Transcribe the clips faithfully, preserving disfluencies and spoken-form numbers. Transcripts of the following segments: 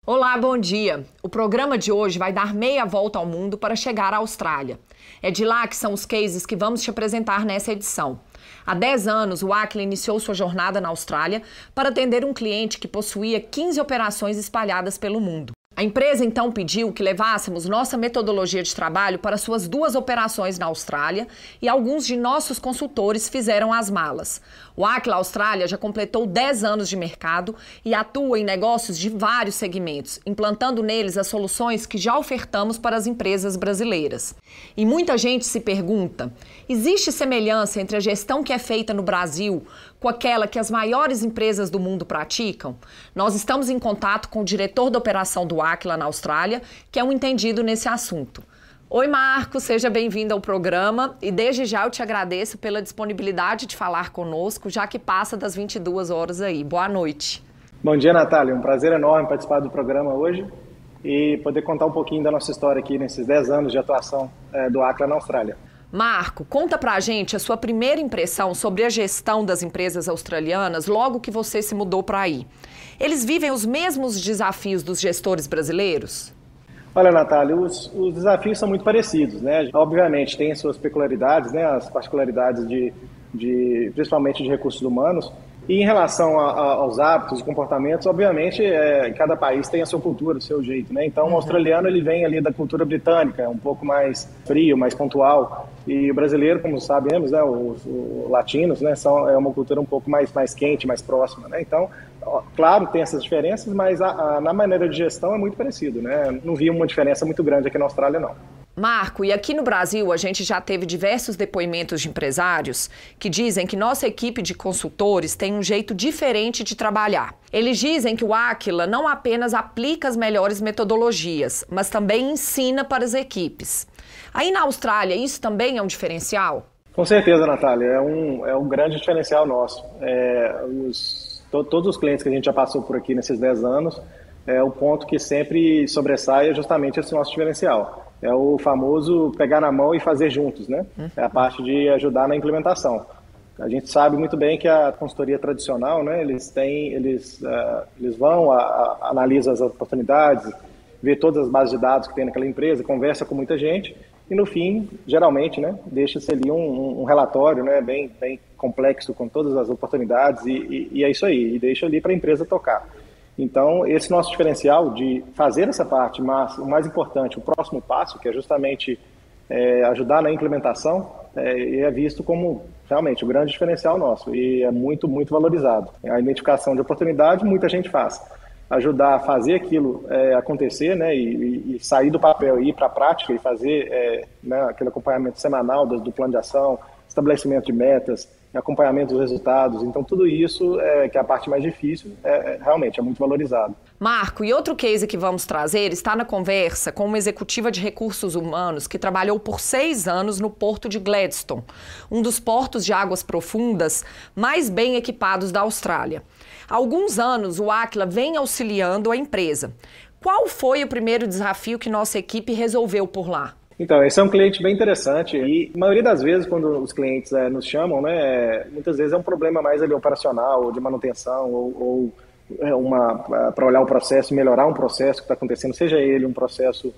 Olá, bom dia! O programa de hoje vai dar meia volta ao mundo para chegar à Austrália. É de lá que são os cases que vamos te apresentar nessa edição. Há dez anos, o Aquila iniciou sua jornada na Austrália para atender um cliente que possuía quinze operações espalhadas pelo mundo. A empresa então pediu que levássemos nossa metodologia de trabalho para suas duas operações na Austrália e alguns de nossos consultores fizeram as malas. O Aquila Austrália já completou dez anos de mercado e atua em negócios de vários segmentos, implantando neles as soluções que já ofertamos para as empresas brasileiras. E muita gente se pergunta, existe semelhança entre a gestão que é feita no Brasil com aquela que as maiores empresas do mundo praticam? Nós estamos em contato com o diretor da operação do Aquila na Austrália, que é um entendido nesse assunto. Oi, Marco, seja bem-vindo ao programa e desde já eu te agradeço pela disponibilidade de falar conosco, já que passa das vinte e duas horas aí. Boa noite. Bom dia, Natália. Um prazer enorme participar do programa hoje e poder contar um pouquinho da nossa história aqui nesses dez anos de atuação é, do Aquila na Austrália. Marco, conta pra gente a sua primeira impressão sobre a gestão das empresas australianas logo que você se mudou para aí. Eles vivem os mesmos desafios dos gestores brasileiros? Olha, Natália, os, os desafios são muito parecidos, né? Obviamente tem as suas peculiaridades, né? As particularidades de, de principalmente de recursos humanos. E em relação a, a, aos hábitos e comportamentos, obviamente, é, cada país tem a sua cultura, o seu jeito, né? Então, o australiano, ele vem ali da cultura britânica, um pouco mais frio, mais pontual. E o brasileiro, como sabemos, né, os, os latinos, né, são, é uma cultura um pouco mais, mais quente, mais próxima, né? Então, ó, claro, tem essas diferenças, mas a, a, na maneira de gestão é muito parecido, né? Não vi uma diferença muito grande aqui na Austrália, não. Marco, e aqui no Brasil a gente já teve diversos depoimentos de empresários que dizem que nossa equipe de consultores tem um jeito diferente de trabalhar. Eles dizem que o Aquila não apenas aplica as melhores metodologias, mas também ensina para as equipes. Aí na Austrália, isso também é um diferencial? Com certeza, Natália, é um, é um grande diferencial nosso. É, os, to, todos os clientes que a gente já passou por aqui nesses dez anos, é, o ponto que sempre sobressai é justamente esse nosso diferencial. É o famoso pegar na mão e fazer juntos, né? É a parte de ajudar na implementação. A gente sabe muito bem que a consultoria tradicional, né? Eles têm, eles, uh, eles vão, a, a, analisam as oportunidades, vê todas as bases de dados que tem naquela empresa, conversa com muita gente e no fim, geralmente, né? Deixa-se ali um, um relatório, né? Bem, bem complexo com todas as oportunidades e, e, e é isso aí. E deixa ali para a empresa tocar. Então, esse nosso diferencial de fazer essa parte, mas o mais importante, o próximo passo, que é justamente é, ajudar na implementação, é, é visto como realmente o grande diferencial nosso e é muito, muito valorizado. A identificação de oportunidade, muita gente faz. Ajudar a fazer aquilo é, acontecer, né, e, e sair do papel e ir para a prática e fazer é, né, aquele acompanhamento semanal do, do plano de ação, estabelecimento de metas, acompanhamento dos resultados. Então, tudo isso, é, que é a parte mais difícil, é, realmente é muito valorizado. Marco, e outro case que vamos trazer está na conversa com uma executiva de recursos humanos que trabalhou por seis anos no porto de Gladstone, um dos portos de águas profundas mais bem equipados da Austrália. Há alguns anos, o Aquila vem auxiliando a empresa. Qual foi o primeiro desafio que nossa equipe resolveu por lá? Então, esse é um cliente bem interessante e a maioria das vezes quando os clientes é, nos chamam, né, muitas vezes é um problema mais ali operacional, ou de manutenção, ou, ou é uma para olhar o processo, melhorar um processo que está acontecendo, seja ele um processo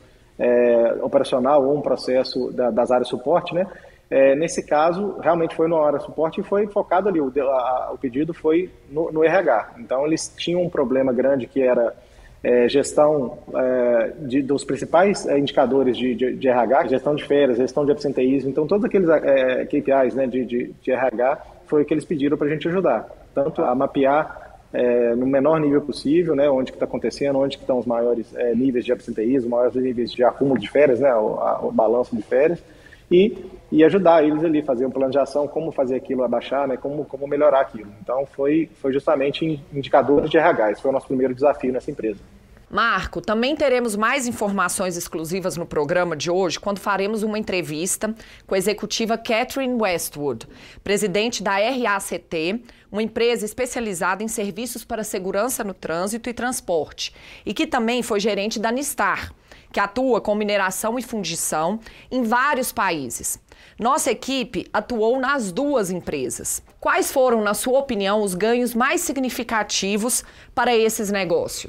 é, operacional ou um processo da, das áreas de suporte, né? É, nesse caso, realmente foi na área de suporte e foi focado ali, o, a, o pedido foi no, no R H. Então, eles tinham um problema grande que era É, gestão é, de, dos principais é, indicadores de, de, de R H, gestão de férias, gestão de absenteísmo, então todos aqueles é, K P Is, né, de, de, de R H foi o que eles pediram para a gente ajudar, tanto a mapear é, no menor nível possível, né, onde que está acontecendo, onde que estão os maiores é, níveis de absenteísmo, maiores níveis de acúmulo de férias, né, o, a, o balanço de férias, e, e ajudar eles ali, fazer um plano de ação, como fazer aquilo abaixar, né, como, como melhorar aquilo. Então foi, foi justamente indicadores de R H, esse foi o nosso primeiro desafio nessa empresa. Marco, também teremos mais informações exclusivas no programa de hoje quando faremos uma entrevista com a executiva Catherine Westwood, presidente da R A C T, uma empresa especializada em serviços para segurança no trânsito e transporte, e que também foi gerente da Nistar, que atua com mineração e fundição em vários países. Nossa equipe atuou nas duas empresas. Quais foram, na sua opinião, os ganhos mais significativos para esses negócios?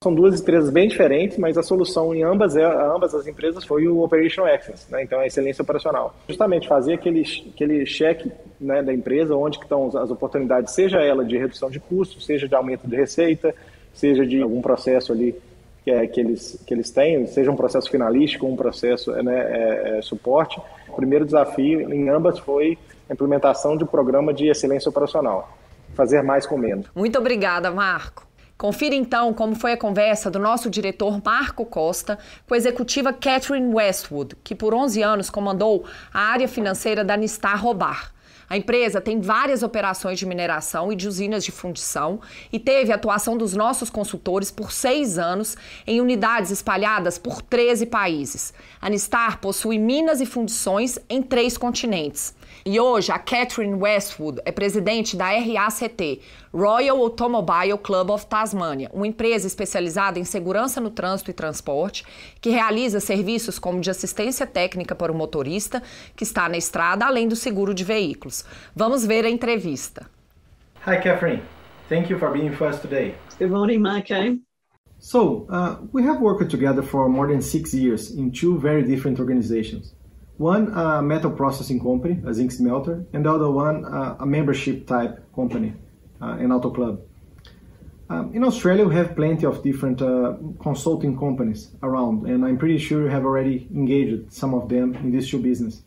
São duas empresas bem diferentes, mas a solução em ambas, ambas as empresas foi o Operational Excellence, né? Então a excelência operacional. Justamente fazer aquele, aquele cheque, né, da empresa, onde que estão as oportunidades, seja ela de redução de custos, seja de aumento de receita, seja de algum processo ali que, é, que, eles, que eles têm, seja um processo finalístico, um processo, né, é, é, suporte. O primeiro desafio em ambas foi a implementação de um programa de excelência operacional. Fazer mais com menos. Muito obrigada, Marco. Confira então como foi a conversa do nosso diretor Marco Costa com a executiva Catherine Westwood, que por onze anos comandou a área financeira da Nistar Robar. A empresa tem várias operações de mineração e de usinas de fundição e teve a atuação dos nossos consultores por seis anos em unidades espalhadas por treze países. A Nistar possui minas e fundições em três continentes. E hoje a Catherine Westwood é presidente da R A C T, Royal Automobile Club of Tasmania, uma empresa especializada em segurança no trânsito e transporte, que realiza serviços como de assistência técnica para o motorista que está na estrada, além do seguro de veículos. Vamos ver a entrevista. Hi, Catherine. Thank you for being with us today. Good morning, Marco. So, uh, we have worked together for more than six years in two very different organizations. One, a metal processing company, a zinc smelter, and the other one, uh, a membership type company, uh, an auto club. Um, in Australia, we have plenty of different uh, consulting companies around, and I'm pretty sure you have already engaged some of them in this shoe business.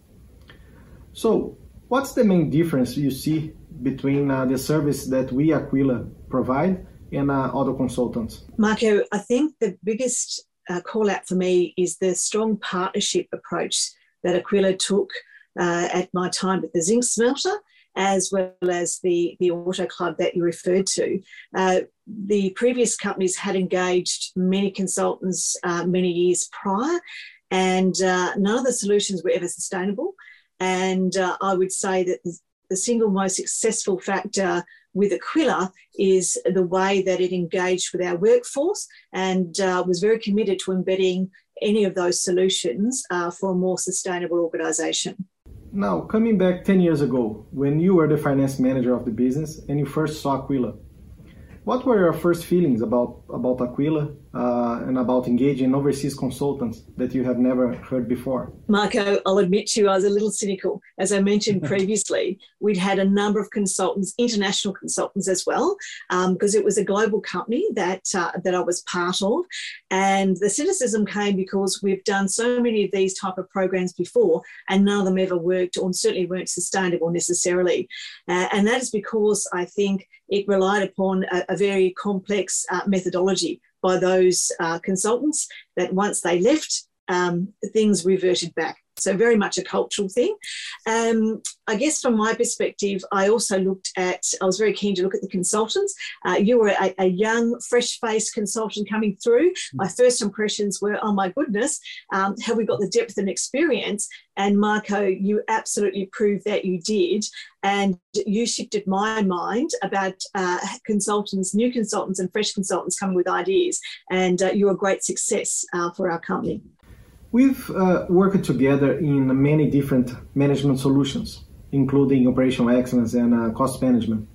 So, what's the main difference you see between uh, the service that we, Aquila, provide and uh, other consultants? Marco, I think the biggest uh, call out for me is the strong partnership approach that Aquila took uh, at my time at the zinc smelter, as well as the, the auto club that you referred to. Uh, the previous companies had engaged many consultants uh, many years prior, and uh, none of the solutions were ever sustainable. And uh, I would say that the, the single most successful factor with Aquila is the way that it engaged with our workforce and uh, was very committed to embedding any of those solutions uh, for a more sustainable organisation. Now, coming back ten years ago, when you were the finance manager of the business and you first saw Aquila, what were your first feelings about, about Aquila uh, and about engaging overseas consultants that you have never heard before? Marco, I'll admit to you, I was a little cynical. As I mentioned previously, we'd had a number of consultants, international consultants as well, um, because it was a global company that, uh, that I was part of. And the cynicism came because we've done so many of these type of programs before and none of them ever worked or certainly weren't sustainable necessarily. Uh, and that is because I think it relied upon a, a very complex uh, methodology by those uh, consultants that once they left, um, things reverted back. So very much a cultural thing. Um, I guess from my perspective, I also looked at, I was very keen to look at the consultants. Uh, you were a, a young, fresh-faced consultant coming through. My first impressions were, oh my goodness, um, have we got the depth and experience? And Marco, you absolutely proved that you did. And you shifted my mind about uh, consultants, new consultants and fresh consultants coming with ideas. And uh, you're a great success uh, for our company. We've uh, worked together in many different management solutions, including operational excellence and uh, cost management.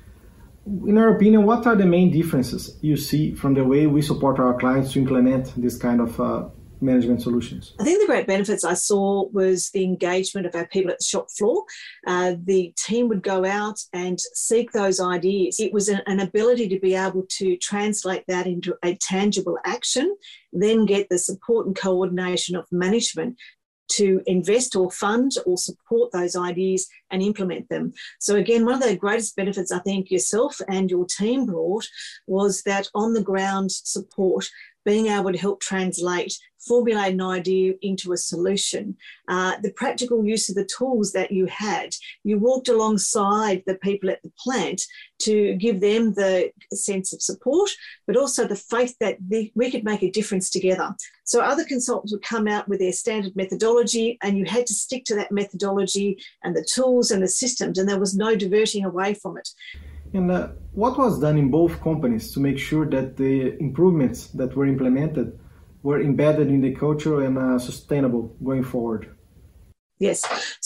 In your opinion, what are the main differences you see from the way we support our clients to implement this kind of uh, management solutions? I think the great benefits I saw was the engagement of our people at the shop floor. Uh, the team would go out and seek those ideas. It was an, an ability to be able to translate that into a tangible action, then get the support and coordination of management to invest or fund or support those ideas and implement them. So again, one of the greatest benefits I think yourself and your team brought was that on the ground support, being able to help translate, formulate an idea into a solution, uh, the practical use of the tools that you had. You walked alongside the people at the plant to give them the sense of support, but also the faith that the, we could make a difference together. So other consultants would come out with their standard methodology and you had to stick to that methodology and the tools and the systems, and there was no diverting away from it. And uh, what was done in both companies to make sure that the improvements that were implemented were embedded in the culture and uh, sustainable going forward? Yes. So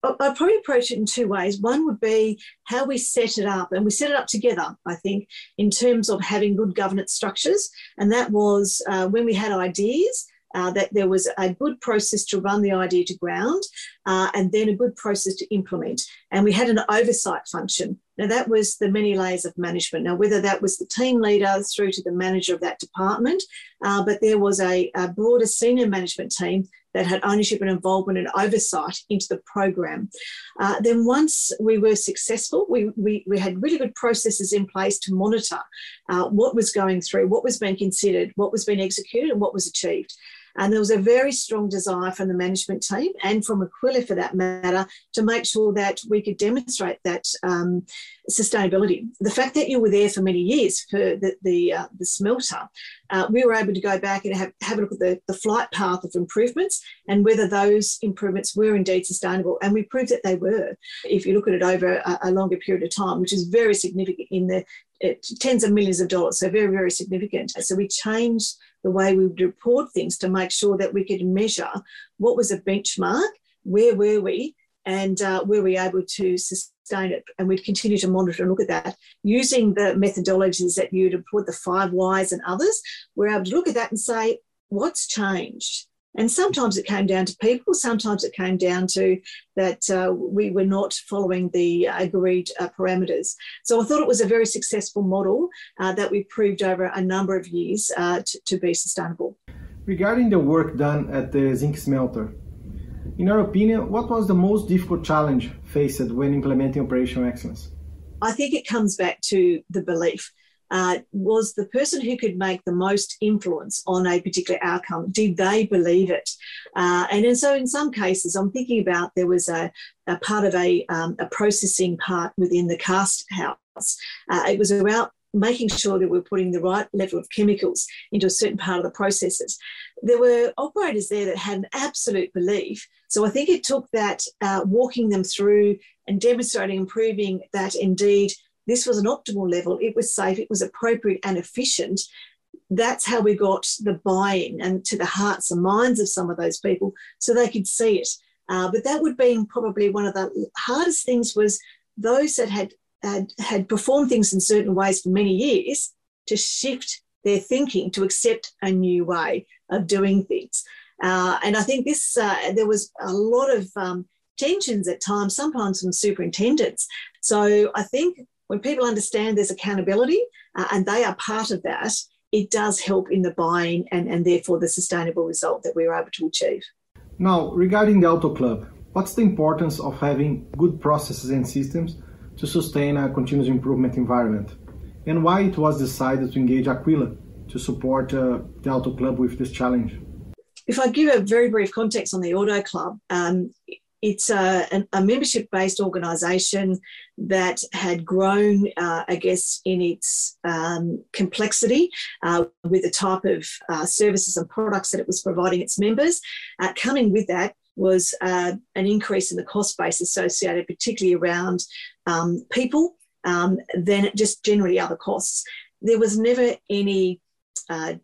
I'd probably approach it in two ways. One would be how we set it up, and we set it up together, I think, in terms of having good governance structures. And that was uh, when we had ideas, uh, that there was a good process to run the idea to ground, uh, and then a good process to implement. And we had an oversight function. Now, that was the many layers of management. Now, whether that was the team leader through to the manager of that department, uh, but there was a, a broader senior management team that had ownership and involvement and oversight into the program. Uh, then once we were successful, we, we, we had really good processes in place to monitor uh, what was going through, what was being considered, what was being executed and what was achieved. And there was a very strong desire from the management team and from Aquila for that matter to make sure that we could demonstrate that um, sustainability. The fact that you were there for many years for the, the, uh, the smelter, uh, we were able to go back and have, have a look at the, the flight path of improvements and whether those improvements were indeed sustainable. And we proved that they were, if you look at it over a, a longer period of time, which is very significant in the It, tens of millions of dollars, so very, very significant. So we changed the way we would report things to make sure that we could measure what was a benchmark, where were we, and uh, were we able to sustain it. And we'd continue to monitor and look at that. Using the methodologies that you'd report, the five whys and others, we're able to look at that and say, what's changed? And sometimes it came down to people, sometimes it came down to that uh, we were not following the agreed uh, parameters. So I thought it was a very successful model uh, that we proved over a number of years uh, to, to be sustainable. Regarding the work done at the zinc smelter, in your opinion, what was the most difficult challenge faced when implementing operational excellence? I think it comes back to the belief. Uh, was the person who could make the most influence on a particular outcome, did they believe it? Uh, and, and so in some cases, I'm thinking about there was a, a part of a, um, a processing part within the cast house. Uh, it was about making sure that we were putting the right level of chemicals into a certain part of the processes. There were operators there that had an absolute belief. So I think it took that uh, walking them through and demonstrating and proving that indeed this was an optimal level, it was safe, it was appropriate and efficient. That's how we got the buy-in and to the hearts and minds of some of those people so they could see it. Uh, but that would be probably one of the hardest things was those that had, had, had performed things in certain ways for many years to shift their thinking to accept a new way of doing things. Uh, and I think this, uh, there was a lot of um, tensions at times, sometimes from superintendents. So I think when people understand there's accountability uh, and they are part of that, it does help in the buying and, and therefore the sustainable result that we were able to achieve. Now, regarding the Auto Club, what's the importance of having good processes and systems to sustain a continuous improvement environment? And why it was decided to engage Aquila to support uh, the Auto Club with this challenge? If I give a very brief context on the Auto Club, um, it's a, a membership-based organisation that had grown, uh, I guess, in its um, complexity uh, with the type of uh, services and products that it was providing its members. Uh, coming with that was uh, an increase in the cost base associated particularly around um, people, um, then just generally other costs. There was never any uh,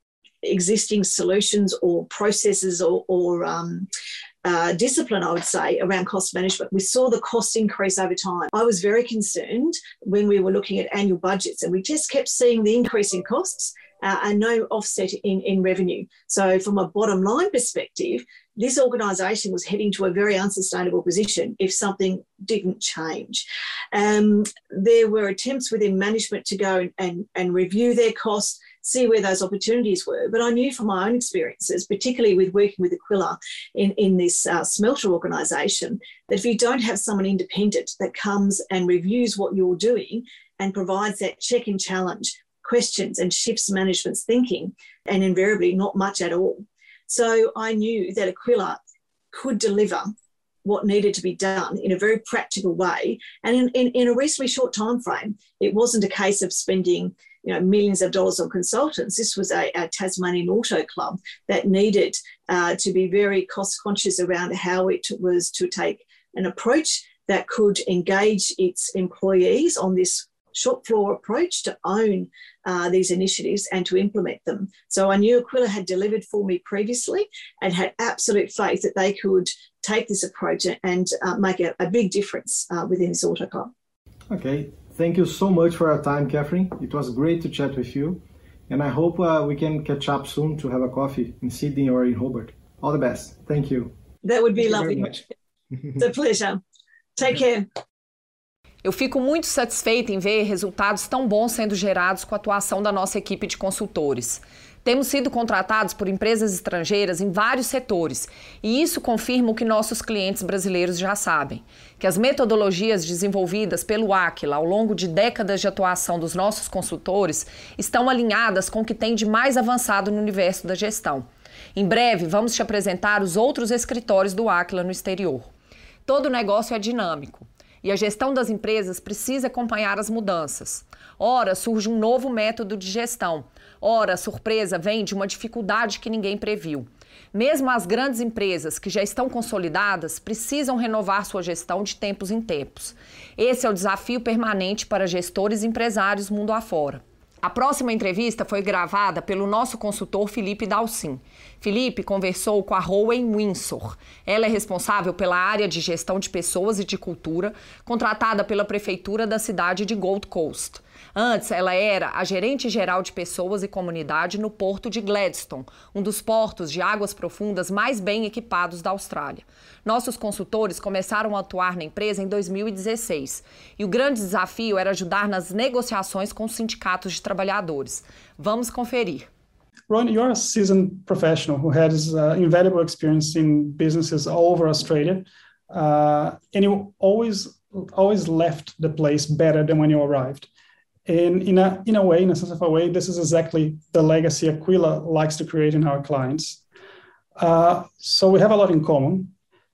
existing solutions or processes or, or um, Uh, discipline, I would say, around cost management. We saw the costs increase over time. I was very concerned when we were looking at annual budgets and we just kept seeing the increase in costs uh, and no offset in, in revenue. So from a bottom line perspective, this organisation was heading to a very unsustainable position if something didn't change. Um, there were attempts within management to go and, and, and review their costs, see where those opportunities were. But I knew from my own experiences, particularly with working with Aquila in, in this uh, smelter organisation, that if you don't have someone independent that comes and reviews what you're doing and provides that check and challenge, questions and shifts management's thinking, and invariably not much at all. So I knew that Aquila could deliver what needed to be done in a very practical way and in, in, in a reasonably short time frame. It wasn't a case of spending you know, millions of dollars on consultants. This was a, a Tasmanian Auto Club that needed uh, to be very cost conscious around how it was to take an approach that could engage its employees on this shop floor approach to own uh, these initiatives and to implement them. So I knew Aquila had delivered for me previously and had absolute faith that they could take this approach and uh, make a, a big difference uh, within this auto club. Okay, thank you so much for your time, Catherine. It was great to chat with you. And I hope uh, we can catch up soon to have a coffee in Sydney or in Hobart. All the best. Thank you. That would be Thank lovely. You very much. It's a pleasure. Take care. Eu fico muito satisfeita em ver resultados tão bons sendo gerados com a atuação da nossa equipe de consultores. Temos sido contratados por empresas estrangeiras em vários setores, e isso confirma o que nossos clientes brasileiros já sabem, que as metodologias desenvolvidas pelo Aquila ao longo de décadas de atuação dos nossos consultores estão alinhadas com o que tem de mais avançado no universo da gestão. Em breve, vamos te apresentar os outros escritórios do Aquila no exterior. Todo negócio é dinâmico. E a gestão das empresas precisa acompanhar as mudanças. Ora, surge um novo método de gestão. Ora, a surpresa vem de uma dificuldade que ninguém previu. Mesmo as grandes empresas que já estão consolidadas precisam renovar sua gestão de tempos em tempos. Esse é o desafio permanente para gestores e empresários mundo afora. A próxima entrevista foi gravada pelo nosso consultor Felipe Dalcin. Felipe conversou com a Rowan Windsor. Ela é responsável pela área de gestão de pessoas e de cultura, contratada pela prefeitura da cidade de Gold Coast. Antes, ela era a gerente-geral de pessoas e comunidade no porto de Gladstone, um dos portos de águas profundas mais bem equipados da Austrália. Nossos consultores começaram a atuar na empresa em dois mil e dezesseis e o grande desafio era ajudar nas negociações com os sindicatos de trabalhadores. Vamos conferir. Ron, you're a seasoned professional who has uh, invaluable experience in businesses all over Australia, uh, and you always, always left the place better than when you arrived. And in a, in a way, in a sense of a way, this is exactly the legacy Aquila likes to create in our clients. Uh, so we have a lot in common.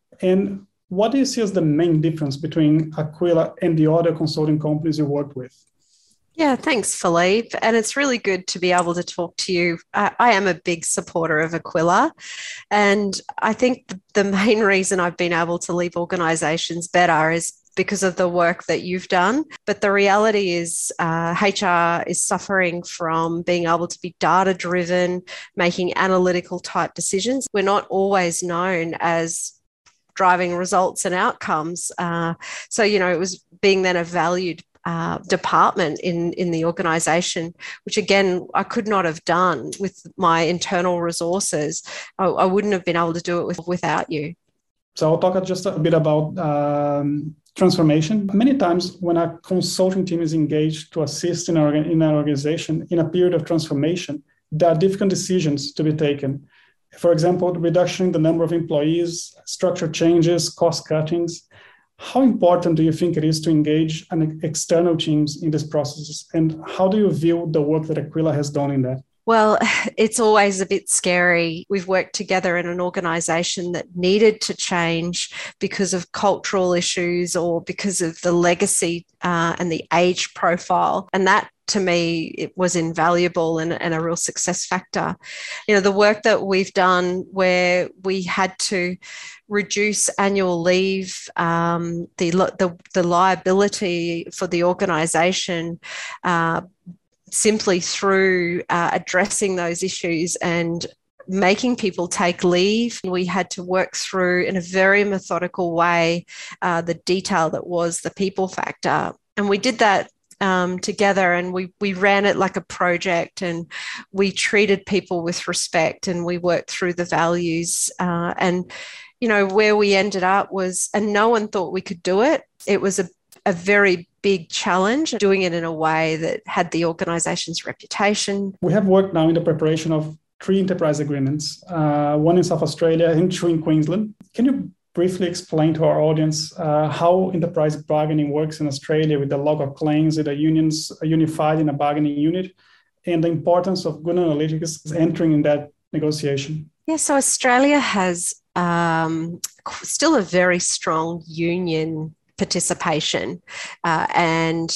And what do you see as the main difference between Aquila and the other consulting companies you work with? Yeah, thanks, Philippe. And it's really good to be able to talk to you. I, I am a big supporter of Aquila. And I think the main reason I've been able to leave organisations better is because of the work that you've done. But the reality is uh, H R is suffering from being able to be data-driven, making analytical type decisions. We're not always known as driving results and outcomes. Uh, so, you know, it was being then a valued uh, department in, in the organisation, which again, I could not have done with my internal resources. I, I wouldn't have been able to do it with, without you. So I'll talk just a bit about um, transformation. Many times when a consulting team is engaged to assist in, our, in an organization in a period of transformation, there are difficult decisions to be taken. For example, the reduction in the number of employees, structure changes, cost cuttings. How important do you think it is to engage an external teams in these processes? And how do you view the work that Aquila has done in that? Well, it's always a bit scary. We've worked together in an organisation that needed to change because of cultural issues or because of the legacy uh, and the age profile. And that, to me, it was invaluable and, and a real success factor. You know, the work that we've done where we had to reduce annual leave, um, the, the, the liability for the organisation, uh, simply through uh, addressing those issues and making people take leave. We had to work through in a very methodical way uh, the detail that was the people factor. And we did that um, together, and we, we ran it like a project, and we treated people with respect, and we worked through the values. Uh, and, you know, where we ended up was, and no one thought we could do it. It was a, a very big challenge, doing it in a way that had the organisation's reputation. We have worked now in the preparation of three enterprise agreements, uh, one in South Australia and two in Queensland. Can you briefly explain to our audience uh, how enterprise bargaining works in Australia with the log of claims, with the unions unified in a bargaining unit, and the importance of good analytics entering in that negotiation? Yeah, so Australia has um, still a very strong union participation, uh, and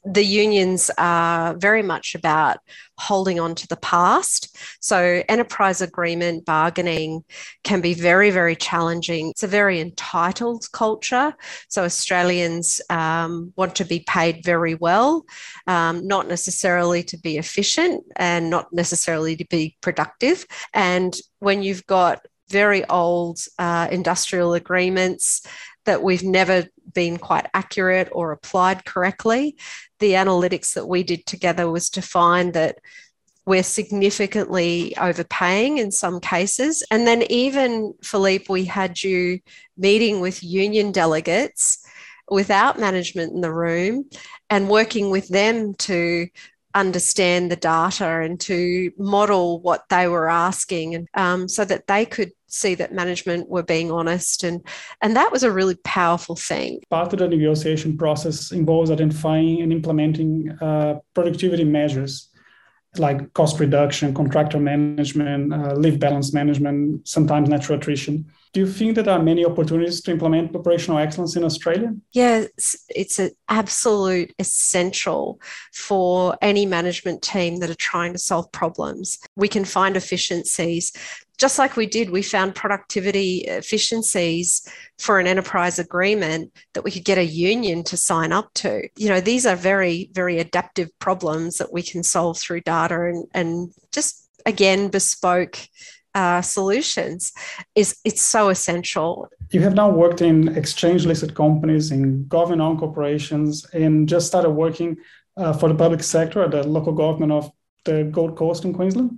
the unions are very much about holding on to the past. So enterprise agreement bargaining can be very, very challenging. It's a very entitled culture. So Australians um, want to be paid very well, um, not necessarily to be efficient and not necessarily to be productive. And when you've got very old uh, industrial agreements that we've never been quite accurate or applied correctly, the analytics that we did together was to find that we're significantly overpaying in some cases. And then even, Philippe, we had you meeting with union delegates without management in the room and working with them to understand the data and to model what they were asking, and um, so that they could see that management were being honest. And, and that was a really powerful thing. Part of the negotiation process involves identifying and implementing uh, productivity measures like cost reduction, contractor management, uh, leave balance management, sometimes natural attrition. Do you think that there are many opportunities to implement operational excellence in Australia? Yes, it's an absolute essential for any management team that are trying to solve problems. We can find efficiencies. Just like we did, we found productivity efficiencies for an enterprise agreement that we could get a union to sign up to. You know, these are very, very adaptive problems that we can solve through data and, and just, again, bespoke uh, solutions. Is It's so essential. You have now worked in exchange-listed companies, in government-owned corporations, and just started working uh, for the public sector at the local government of the Gold Coast in Queensland.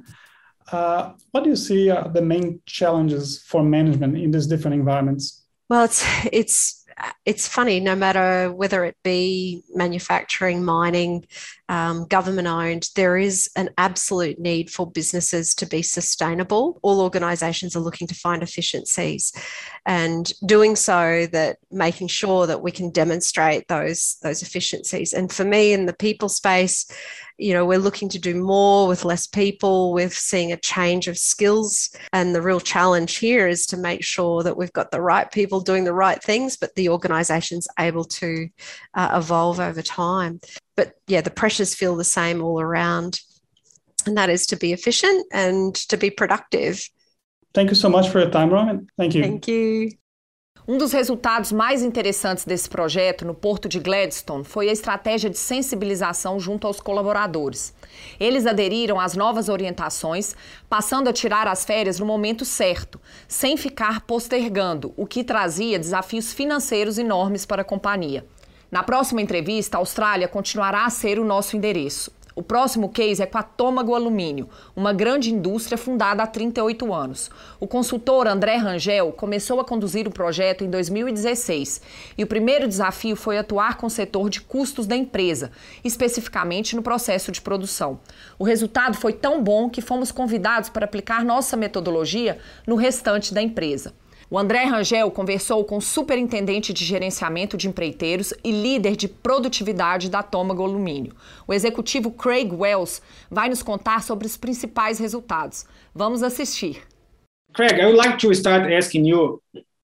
Uh, what do you see are the main challenges for management in these different environments? Well, it's it's it's funny, no matter whether it be manufacturing, mining, um, government owned, there is an absolute need for businesses to be sustainable. All organisations are looking to find efficiencies, and doing so that making sure that we can demonstrate those, those efficiencies. And for me, in the people space, you know, we're looking to do more with less people. We're seeing a change of skills. And the real challenge here is to make sure that we've got the right people doing the right things, but the organisation's able to uh, evolve over time. But yeah, the pressures feel the same all around. And that is to be efficient and to be productive. Thank you so much for your time, Roman. Thank you. Thank you. Um dos resultados mais interessantes desse projeto no Porto de Gladstone foi a estratégia de sensibilização junto aos colaboradores. Eles aderiram às novas orientações, passando a tirar as férias no momento certo, sem ficar postergando, o que trazia desafios financeiros enormes para a companhia. Na próxima entrevista, a Austrália continuará a ser o nosso endereço. O próximo case é com a Tômago Alumínio, uma grande indústria fundada há trinta e oito anos. O consultor André Rangel começou a conduzir o projeto em dois mil e dezesseis e o primeiro desafio foi atuar com o setor de custos da empresa, especificamente no processo de produção. O resultado foi tão bom que fomos convidados para aplicar nossa metodologia no restante da empresa. O André Rangel conversou com o superintendente de gerenciamento de empreiteiros e líder de produtividade da Tômago Alumínio. O executivo Craig Wells vai nos contar sobre os principais resultados. Vamos assistir. Craig, I would like to start asking you,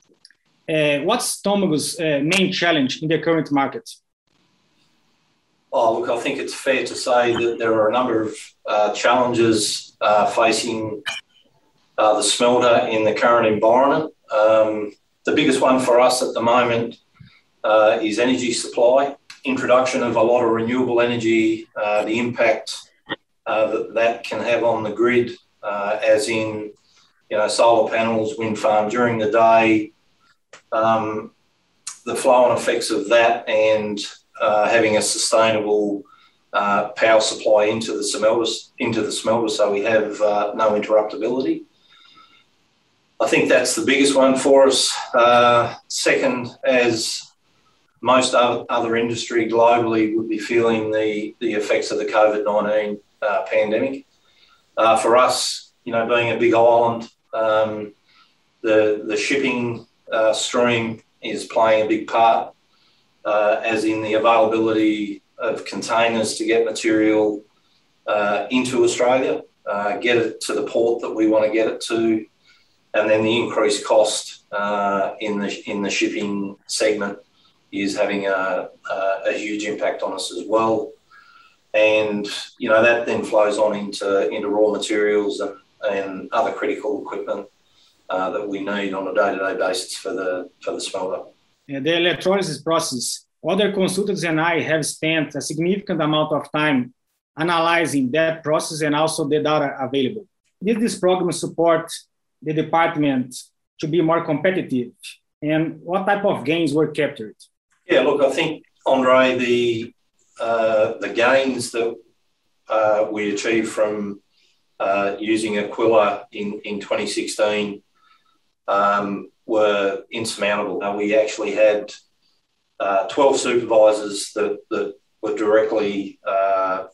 uh, what's Tômago's uh, main challenge in the current market? Oh, look, I think it's fair to say that there are a number of uh, challenges uh, facing uh, the smelter in the current environment. Um, the biggest one for us at the moment uh, is energy supply, introduction of a lot of renewable energy, uh, the impact uh, that that can have on the grid, uh, as in, you know, solar panels, wind farm during the day, um, the flow-on effects of that, and uh, having a sustainable uh, power supply into the smelters, into the smelter, so we have uh, no interruptibility. I think that's the biggest one for us. Uh, second, as most other industry globally would be feeling the, the effects of the COVID nineteen uh, pandemic. Uh, for us, you know, being a big island, um, the, the shipping uh, stream is playing a big part, uh, as in the availability of containers to get material uh, into Australia, uh, get it to the port that we want to get it to, and then the increased cost uh, in the in the shipping segment is having a, a, a huge impact on us as well. And, you know, that then flows on into, into raw materials and, and other critical equipment uh, that we need on a day-to-day basis for the, for the smelter. The electrolysis process, other consultants and I have spent a significant amount of time analyzing that process and also the data available. Did this program support the department to be more competitive? And what type of gains were captured? Yeah, look, I think, Andre, the uh, the gains that uh, we achieved from uh, using Aquila in, in twenty sixteen um, were insurmountable. Now, we actually had uh, twelve supervisors that, that were directly uh,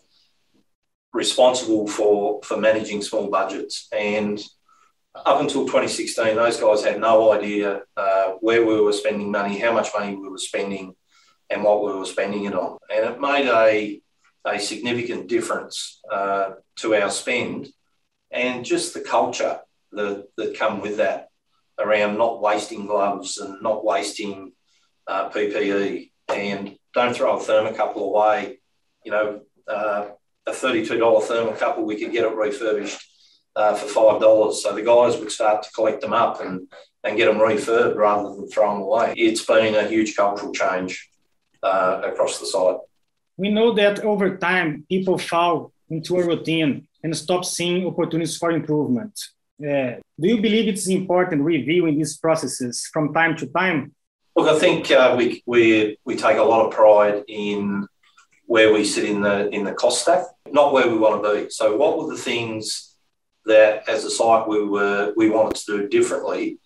responsible for, for managing small budgets. And up until twenty sixteen, those guys had no idea uh, where we were spending money, how much money we were spending, and what we were spending it on. And it made a, a significant difference uh, to our spend and just the culture that, that come with that around not wasting gloves and not wasting uh, P P E. And don't throw a thermocouple away. You know, uh, a thirty-two dollars thermocouple, we could get it refurbished Uh, for five dollars. So the guys would start to collect them up and, and get them refurbed rather than throw them away. It's been a huge cultural change uh, across the site. We know that over time, people fall into a routine and stop seeing opportunities for improvement. Uh, do you believe it's important reviewing these processes from time to time? Look, I think uh, we, we, we take a lot of pride in where we sit in the, in the cost stack, not where we want to be. So what were the things that as a site we were we wanted to do differently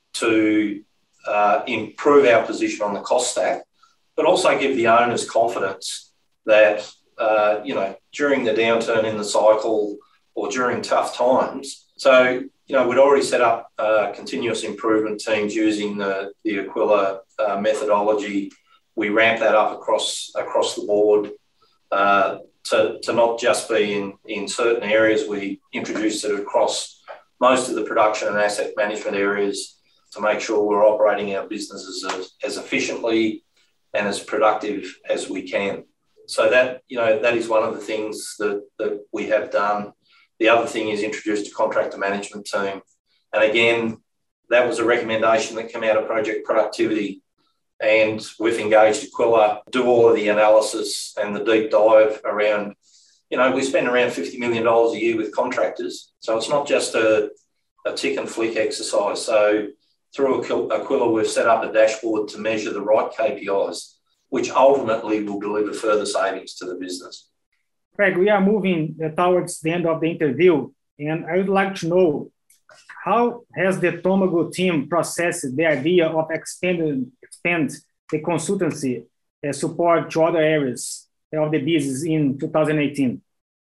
to uh, improve our position on the cost stack, but also give the owners confidence that, uh, you know, during the downturn in the cycle or during tough times. So, you know, we'd already set up uh, continuous improvement teams using the, the Aquila uh, methodology. We ramped that up across, across the board. Uh, To, to not just be in, in certain areas. We introduced it across most of the production and asset management areas to make sure we're operating our businesses as, as efficiently and as productive as we can. So that, you know, that is one of the things that, that we have done. The other thing is introduced a contractor management team. And again, that was a recommendation that came out of Project Productivity. And we've engaged Aquila, do all of the analysis and the deep dive around, you know, we spend around fifty million dollars a year with contractors. So it's not just a, a tick and flick exercise. So through Aquila, we've set up a dashboard to measure the right K P Is, which ultimately will deliver further savings to the business. Craig, we are moving towards the end of the interview, and I would like to know, how has the Tomago team processed the idea of expanding expand the consultancy uh, support to other areas of the business in two thousand eighteen?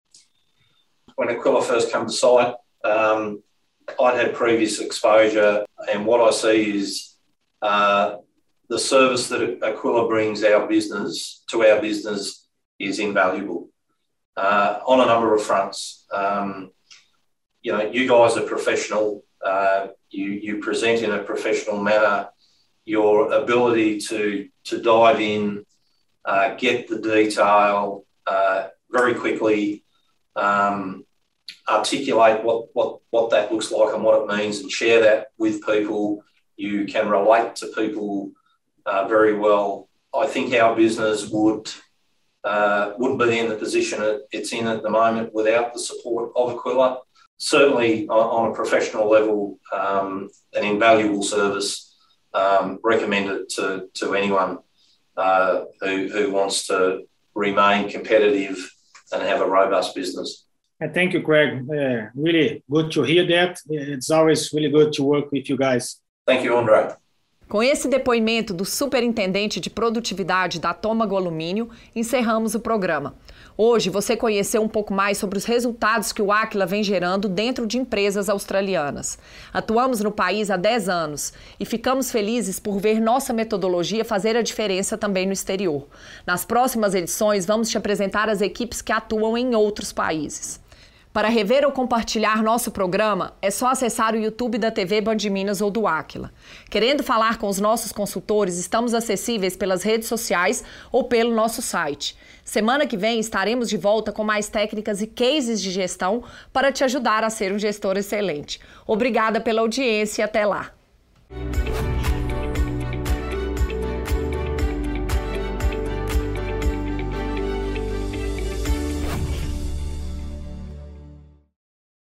When Aquila first came to site, um, I'd had previous exposure, and what I see is uh, the service that Aquila brings our business to our business is invaluable uh, on a number of fronts. Um, you know, you guys are professional. Uh, you, you present in a professional manner. Your ability to, to dive in, uh, get the detail uh, very quickly, um, articulate what, what, what that looks like and what it means, and share that with people. You can relate to people uh, very well. I think our business would, uh, wouldn't be in the position it, it's in at the moment without the support of Aquila. Certainly on, on a professional level, um, an invaluable service. Um, recommended to, to anyone uh, who, who wants to remain competitive and have a robust business. And thank you, Craig. Uh, really good to hear that. It's always really good to work with you guys. Thank you, Andre. Com esse depoimento do superintendente de produtividade da Tomago Alumínio, encerramos o programa. Hoje você conheceu um pouco mais sobre os resultados que o Aquila vem gerando dentro de empresas australianas. Atuamos no país há dez anos e ficamos felizes por ver nossa metodologia fazer a diferença também no exterior. Nas próximas edições vamos te apresentar as equipes que atuam em outros países. Para rever ou compartilhar nosso programa, é só acessar o YouTube da T V Band Minas ou do Aquila. Querendo falar com os nossos consultores, estamos acessíveis pelas redes sociais ou pelo nosso site. Semana que vem estaremos de volta com mais técnicas e cases de gestão para te ajudar a ser um gestor excelente. Obrigada pela audiência e até lá!